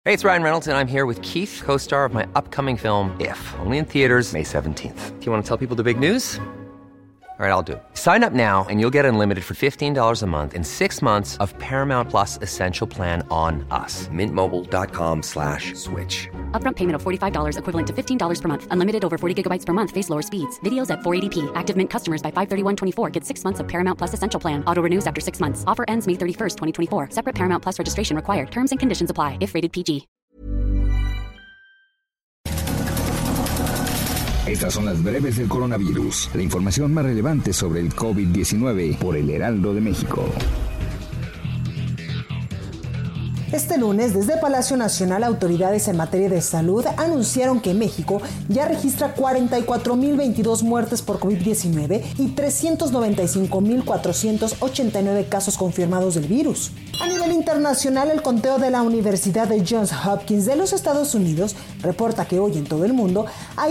Hey, it's Ryan Reynolds, and I'm here with Keith, co-star of my upcoming film, If, only in theaters May 17th. Do you want to tell people the big news? All right, I'll do it. Sign up now and you'll get unlimited for $15 a month and 6 months of Paramount Plus Essential Plan on us. MintMobile.com/switch. Upfront payment of $45 equivalent to $15 per month. Unlimited over 40 gigabytes per month. Face lower speeds. Videos at 480p. Active Mint customers by 531.24 get 6 months of Paramount Plus Essential Plan. Auto renews after 6 months. Offer ends May 31st, 2024. Separate Paramount Plus registration required. Terms and conditions apply if rated PG. Estas son las breves del coronavirus. La información más relevante sobre el COVID-19 por el Heraldo de México. Este lunes, desde Palacio Nacional, autoridades en materia de salud anunciaron que México ya registra 44.022 muertes por COVID-19 y 395.489 casos confirmados del virus. A nivel internacional, el conteo de la Universidad de Johns Hopkins de los Estados Unidos reporta que hoy en todo el mundo hay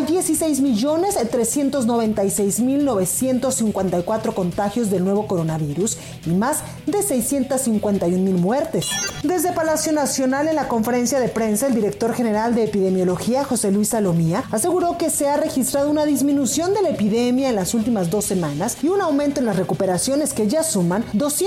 16.396.954 contagios del nuevo coronavirus y más de 651.000 muertes. Desde Palacio Nacional, en la conferencia de prensa, el director general de epidemiología, José Luis Salomía, aseguró que se ha registrado una disminución de la epidemia en las últimas 2 semanas y un aumento en las recuperaciones que ya suman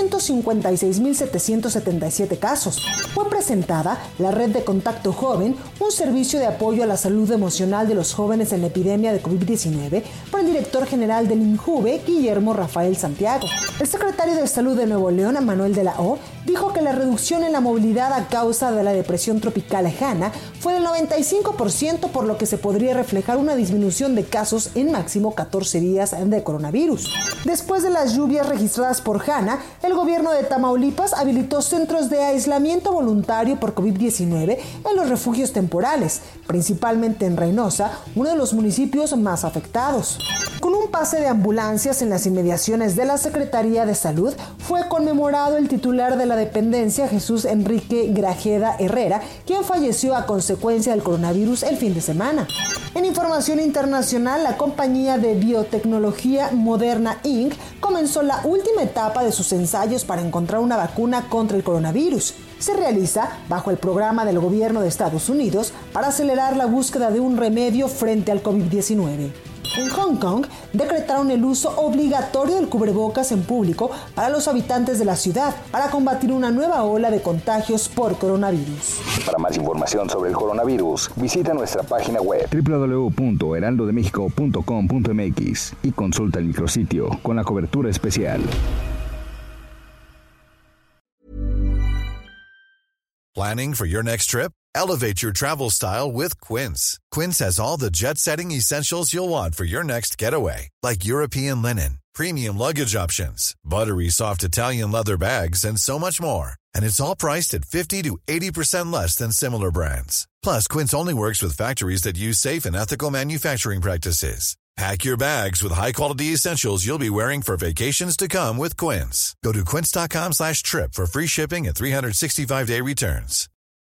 256.777 casos. Fue presentada la Red de Contacto Joven, un servicio de apoyo a la salud emocional de los jóvenes en la epidemia de COVID-19, por el director general del INJUVE, Guillermo Rafael Santiago. El secretario de Salud de Nuevo León, Manuel de la O, dijo que la reducción en la movilidad a causa de la depresión tropical Hanna fue del 95%, por lo que se podría reflejar una disminución de casos en máximo 14 días de coronavirus. Después de las lluvias registradas por Hanna, el gobierno de Tamaulipas habilitó centros de aislamiento voluntario por COVID-19 en los refugios temporales, principalmente en Reynosa, uno de los municipios más afectados. Con un pase de ambulancias en las inmediaciones de la Secretaría de Salud, fue conmemorado el titular de la dependencia, Jesús Enrique Grajeda Herrera, quien falleció a consecuencia del coronavirus el fin de semana. En información internacional, la compañía de biotecnología Moderna Inc. comenzó la última etapa de sus ensayos para encontrar una vacuna contra el coronavirus. Se realiza bajo el programa del gobierno de Estados Unidos para acelerar la búsqueda de un remedio frente al COVID-19. En Hong Kong, decretaron el uso obligatorio del cubrebocas en público para los habitantes de la ciudad para combatir una nueva ola de contagios por coronavirus. Para más información sobre el coronavirus, visita nuestra página web www.heraldodemexico.com.mx y consulta el micrositio con la cobertura especial. Planning for your next trip? Elevate your travel style with Quince. Quince has all the jet-setting essentials you'll want for your next getaway, like European linen, premium luggage options, buttery soft Italian leather bags, and so much more. And it's all priced at 50 to 80% less than similar brands. Plus, Quince only works with factories that use safe and ethical manufacturing practices. Pack your bags with high-quality essentials you'll be wearing for vacations to come with Quince. Go to quince.com/trip for free shipping and 365-day returns.